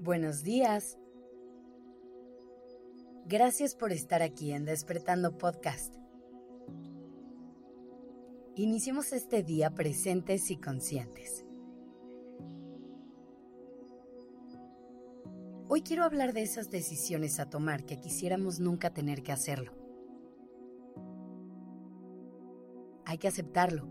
Buenos días. Gracias por estar aquí en Despertando Podcast. Iniciemos este día presentes y conscientes. Hoy quiero hablar de esas decisiones a tomar que quisiéramos nunca tener que hacerlo. Hay que aceptarlo.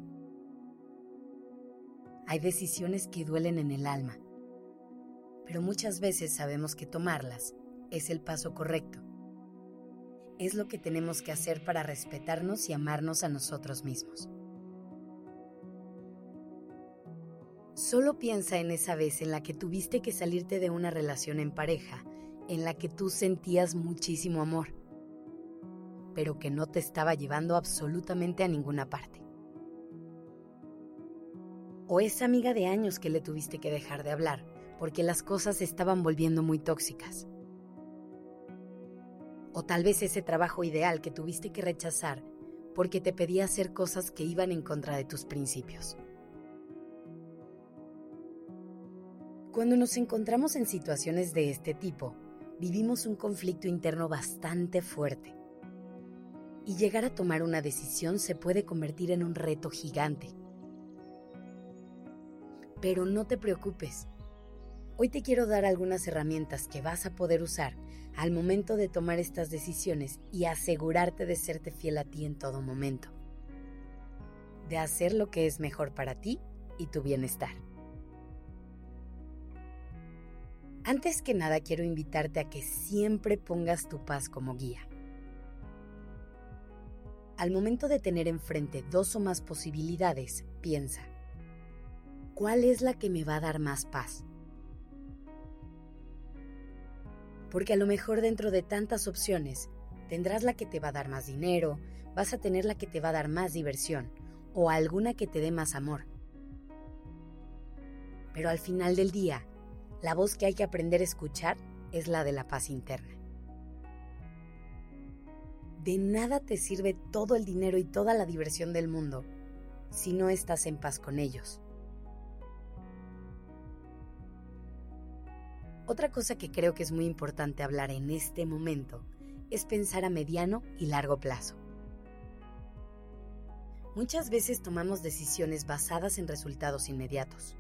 Hay decisiones que duelen en el alma, pero muchas veces sabemos que tomarlas es el paso correcto. Es lo que tenemos que hacer para respetarnos y amarnos a nosotros mismos. Solo piensa en esa vez en la que tuviste que salirte de una relación en pareja, en la que tú sentías muchísimo amor, pero que no te estaba llevando absolutamente a ninguna parte. O esa amiga de años que le tuviste que dejar de hablar, porque las cosas se estaban volviendo muy tóxicas. O tal vez ese trabajo ideal que tuviste que rechazar porque te pedía hacer cosas que iban en contra de tus principios. Cuando nos encontramos en situaciones de este tipo, vivimos un conflicto interno bastante fuerte. Y llegar a tomar una decisión se puede convertir en un reto gigante. Pero no te preocupes. Hoy te quiero dar algunas herramientas que vas a poder usar al momento de tomar estas decisiones y asegurarte de serte fiel a ti en todo momento. De hacer lo que es mejor para ti y tu bienestar. Antes que nada, quiero invitarte a que siempre pongas tu paz como guía. Al momento de tener enfrente dos o más posibilidades, piensa, ¿cuál es la que me va a dar más paz? Porque a lo mejor dentro de tantas opciones, tendrás la que te va a dar más dinero, vas a tener la que te va a dar más diversión, o alguna que te dé más amor. Pero al final del día, la voz que hay que aprender a escuchar es la de la paz interna. De nada te sirve todo el dinero y toda la diversión del mundo si no estás en paz con ellos. Otra cosa que creo que es muy importante hablar en este momento es pensar a mediano y largo plazo. Muchas veces tomamos decisiones basadas en resultados inmediatos.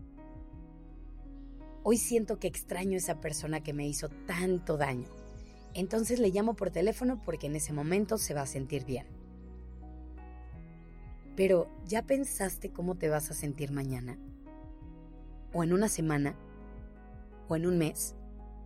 Hoy siento que extraño a esa persona que me hizo tanto daño. Entonces le llamo por teléfono porque en ese momento se va a sentir bien. Pero, ¿ya pensaste cómo te vas a sentir mañana? ¿O en una semana? ¿O en un mes?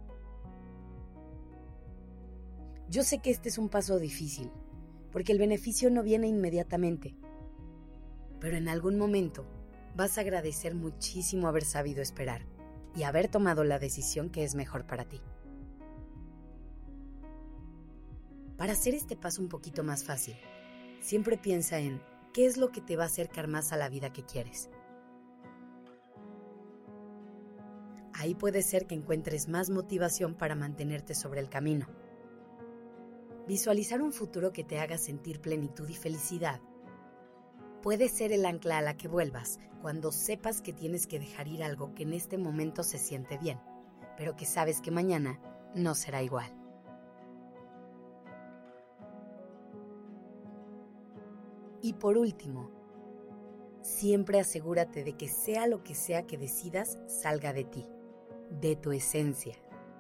Yo sé que este es un paso difícil, porque el beneficio no viene inmediatamente. Pero en algún momento vas a agradecer muchísimo haber sabido esperar y haber tomado la decisión que es mejor para ti. Para hacer este paso un poquito más fácil, siempre piensa en qué es lo que te va a acercar más a la vida que quieres. Ahí puede ser que encuentres más motivación para mantenerte sobre el camino. Visualizar un futuro que te haga sentir plenitud y felicidad puede ser el ancla a la que vuelvas cuando sepas que tienes que dejar ir algo que en este momento se siente bien, pero que sabes que mañana no será igual. Y por último, siempre asegúrate de que sea lo que sea que decidas salga de ti, de tu esencia.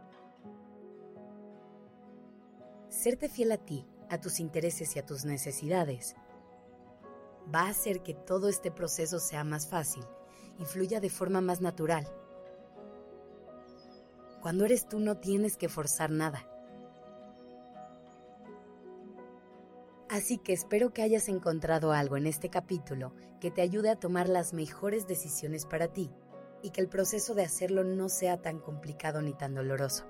Serte fiel a ti, a tus intereses y a tus necesidades va a hacer que todo este proceso sea más fácil y fluya de forma más natural. Cuando eres tú no tienes que forzar nada. Así que espero que hayas encontrado algo en este capítulo que te ayude a tomar las mejores decisiones para ti y que el proceso de hacerlo no sea tan complicado ni tan doloroso.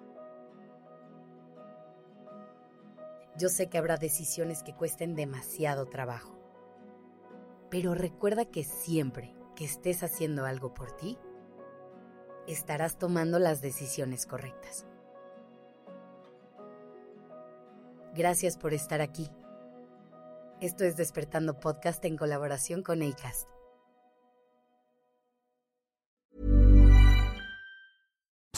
Yo sé que habrá decisiones que cuesten demasiado trabajo. Pero recuerda que siempre que estés haciendo algo por ti, estarás tomando las decisiones correctas. Gracias por estar aquí. Esto es Despertando Podcast en colaboración con Acast.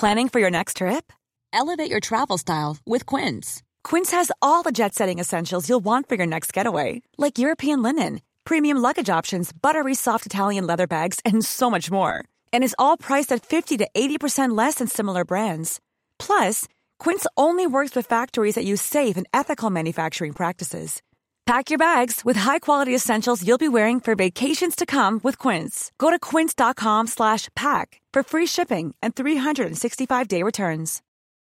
Planning for your next trip? Elevate your travel style with Quince. Quince has all the jet-setting essentials you'll want for your next getaway, like European linen, premium luggage options, buttery soft Italian leather bags, and so much more. And is all priced at 50 to 80% less than similar brands. Plus, Quince only works with factories that use safe and ethical manufacturing practices. Pack your bags with high-quality essentials you'll be wearing for vacations to come with Quince. Go to quince.com/pack for free shipping and 365-day returns.